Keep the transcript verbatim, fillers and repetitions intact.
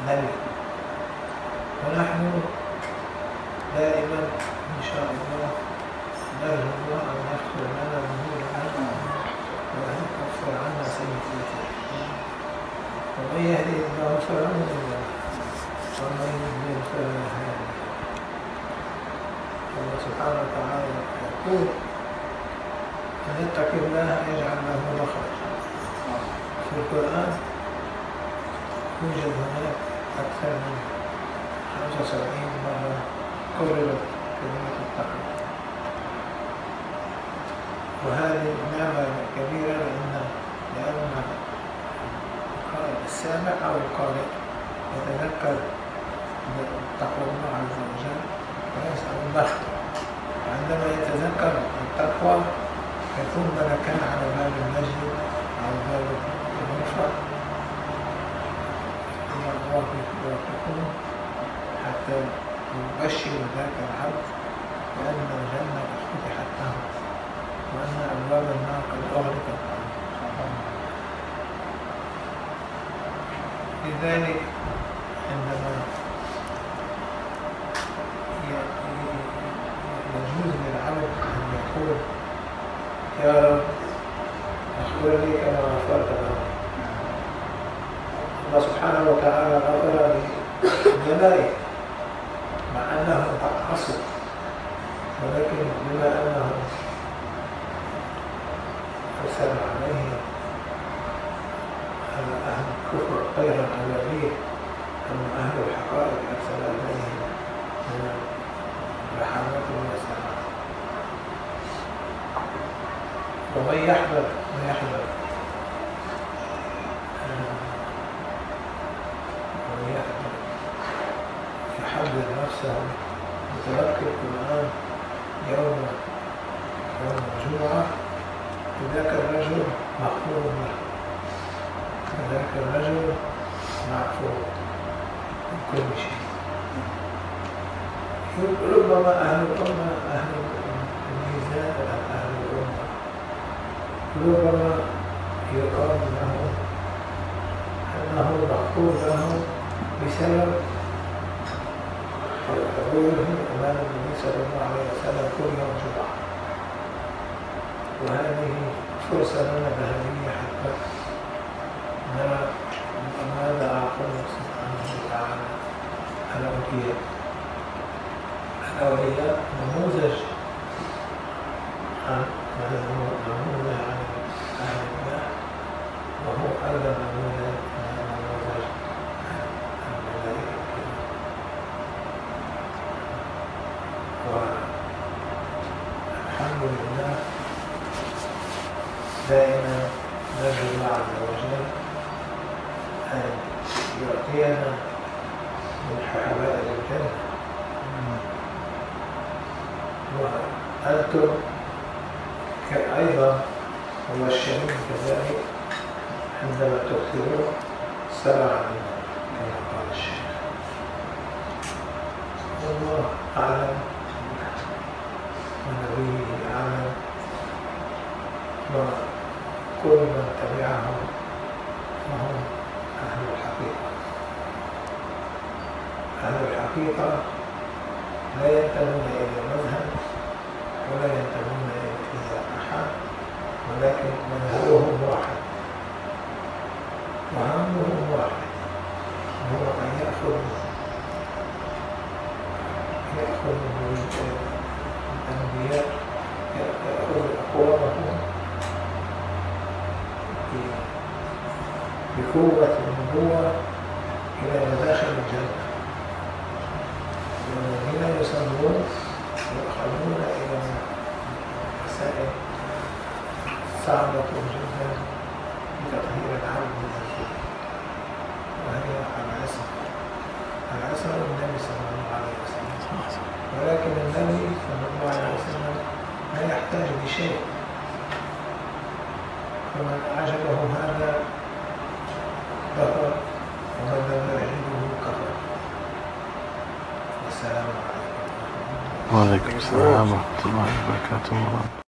نبي. ونحن دائما إن شاء الله نرجو الله أن يغفر لنا ذنوبنا وأن يكفر عنا سيئاتنا. ومن يهده الله فلا مضل له ومن يضلل فلا هادي له. الله سبحانه وتعالى يقول: من يتق الله يجعل له مخرجا. في القرآن يوجد هناك أكثر من خمسة وسبعين مرة كررت كلمة التقوى، وهذه نعمة كبيرة لأن لأن السامع أو القارئ يتذكر تقوى الله عز وجل ويسأل المغفرة. وعندما يتذكر التقوى يكون ملكا على باب المسجد أو باب المرفأ إلى الله يوفقون حتى يبشر ذاك العبد بأن الجنة فتحت له وأن أبواب النار قد أغلقت عنه. لذلك عندما يجوز للعبد أن يقول: يا رب اغفر لي كما غفرت له. الله سبحانه وتعالى غفر للملائكة مع أنهم عصوا، ولكن بما أنه أرسل عليهم أهل الكفر خيرا أوليه أم أهل الحقائق أرسل عليهم من الرحمات والسلام. ومن يحذر من يحذر ومن يحذر يحذر نفسه يتذكر القرآن يوم يوم الجمعة، فذاك الرجل مغفور له، فذاك الرجل معفو من كل شيء. ربما أهل الأمة أهل الميزان أهل الأمة ربما يقال له أنه مغفور له بسبب حضوره أمام النبي صلى الله عليه وسلم كل يوم جمعة، وهذه فرصة لنا ذهبية حتى نرى ماذا أعطى الله سبحانه وتعالى الأولياء. الأولياء نموذج عن نموذج عن أهل الله، وهو أيضا نموذج نموذج عن الملائكة. والحمد لله دائما نرجو الله عز وجل أن يعطينا من حوائج الجنة. وأنتم أيضا مبشرين كذلك عندما تكثرون الصلاة علينا كما قال الشيخ. والله أعلم ونبيه أعلم، وكل من تبعهم فهم أهل الحقيقة. أهل الحقيقة لا ينتمون إلى مذهب ولا ينتمون إلى أحد، ولكن منهجهم واحد وهمهم واحد، وهو أن يأخذ يأخذ الأنبياء يأخذ أقوامهم بقوة النبوة إلى مداخل الجنة، والذين يصلون يؤخذون إلى مسائل صعبة جدا بتطهير العبد من الذنوب، وهي العصمة. العصمة للنبي صلى الله عليه وسلم، ولكن النبي صلى الله عليه وسلم لا يحتاج لشيء، فمن أعجبه هذا كفر ومن لم يعجبه كفر. والسلام عليكم. وعليكم السلام ورحمة الله وبركاته.